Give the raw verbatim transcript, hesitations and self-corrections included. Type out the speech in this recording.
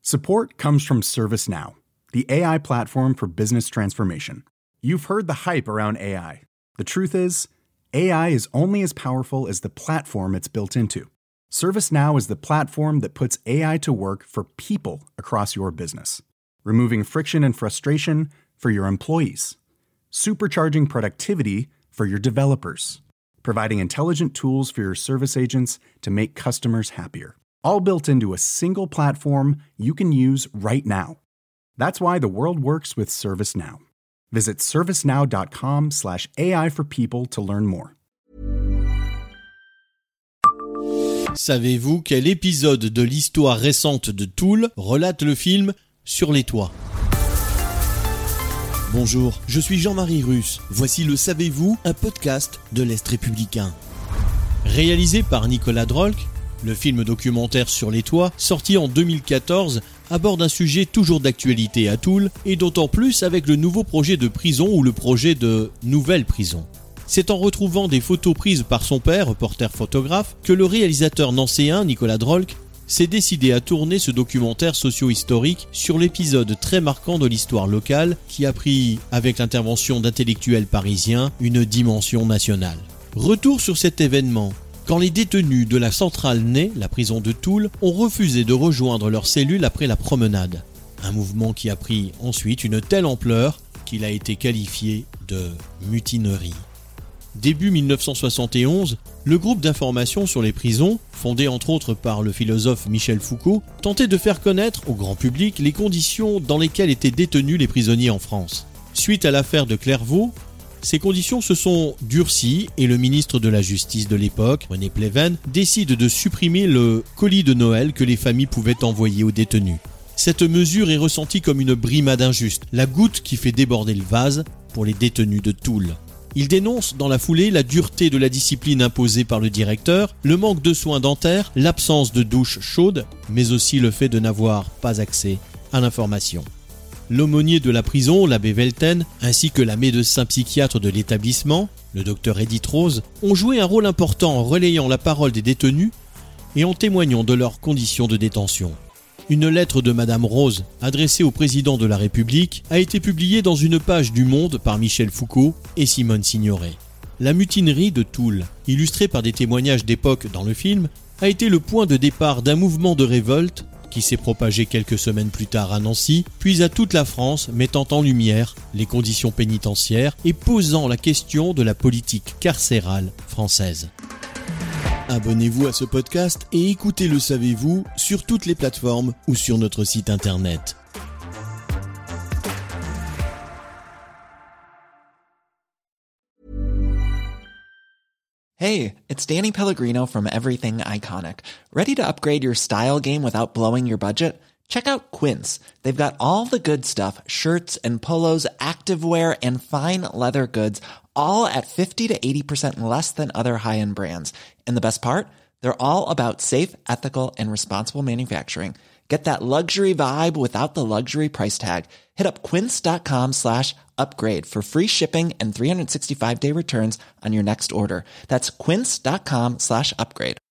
Support comes from ServiceNow, the A I platform for business transformation. You've heard the hype around A I. The truth is, A I is only as powerful as the platform it's built into. ServiceNow is the platform that puts A I to work for people across your business, removing friction and frustration for your employees, supercharging productivity for your developers, providing intelligent tools for your service agents to make customers happier. All built into a single platform you can use right now. That's why the world works with ServiceNow. Visit servicenow.com slash AI for people to learn more. Savez-vous quel épisode de l'histoire récente de Tool relate le film Sur les toits ? Bonjour, je suis Jean-Marie Russe. Voici le Savez-vous, un podcast de l'Est républicain. Réalisé par Nicolas Drolk, le film documentaire Sur les toits, sorti en deux mille quatorze, aborde un sujet toujours d'actualité à Toul, et d'autant plus avec le nouveau projet de prison ou le projet de nouvelle prison. C'est en retrouvant des photos prises par son père, reporter photographe, que le réalisateur nancéen, Nicolas Drolk, s'est décidé à tourner ce documentaire socio-historique sur l'épisode très marquant de l'histoire locale qui a pris, avec l'intervention d'intellectuels parisiens, une dimension nationale. Retour sur cet événement. Quand les détenus de la centrale Ney, la prison de Toul, ont refusé de rejoindre leur cellule après la promenade. Un mouvement qui a pris ensuite une telle ampleur qu'il a été qualifié de mutinerie. Début dix-neuf cent soixante et onze, le groupe d'information sur les prisons, fondé entre autres par le philosophe Michel Foucault, tentait de faire connaître au grand public les conditions dans lesquelles étaient détenus les prisonniers en France. Suite à l'affaire de Clairvaux, ces conditions se sont durcies et le ministre de la Justice de l'époque, René Pleven, décide de supprimer le colis de Noël que les familles pouvaient envoyer aux détenus. Cette mesure est ressentie comme une brimade injuste, la goutte qui fait déborder le vase pour les détenus de Toul. Il dénonce dans la foulée la dureté de la discipline imposée par le directeur, le manque de soins dentaires, l'absence de douche chaude, mais aussi le fait de n'avoir pas accès à l'information. L'aumônier de la prison, l'abbé Velten, ainsi que la médecin psychiatre de l'établissement, le docteur Edith Rose, ont joué un rôle important en relayant la parole des détenus et en témoignant de leurs conditions de détention. Une lettre de Madame Rose, adressée au président de la République, a été publiée dans une page du Monde par Michel Foucault et Simone Signoret. La mutinerie de Toul, illustrée par des témoignages d'époque dans le film, a été le point de départ d'un mouvement de révolte qui s'est propagé quelques semaines plus tard à Nancy, puis à toute la France, mettant en lumière les conditions pénitentiaires et posant la question de la politique carcérale française. Abonnez-vous à ce podcast et écoutez Le Savez-vous sur toutes les plateformes ou sur notre site internet. Hey, it's Danny Pellegrino from Everything Iconic. Ready to upgrade your style game without blowing your budget? Check out Quince. They've got all the good stuff, shirts and polos, activewear, and fine leather goods, all at fifty to eighty percent less than other high-end brands. And the best part? They're all about safe, ethical, and responsible manufacturing. Get that luxury vibe without the luxury price tag. Hit up quince.com slash upgrade for free shipping and three sixty-five day returns on your next order. That's quince.com slash upgrade.